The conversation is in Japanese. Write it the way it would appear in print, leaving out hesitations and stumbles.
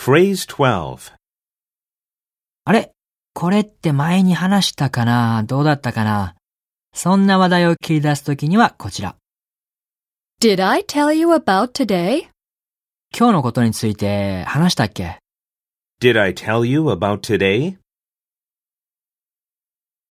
Phrase 12. あれ？これって前に話したかな？どうだったかな？そんな話題を切り出すときにはこちら。 Did I tell you about today? 今日のことについて話したっけ？ Did I tell you about today?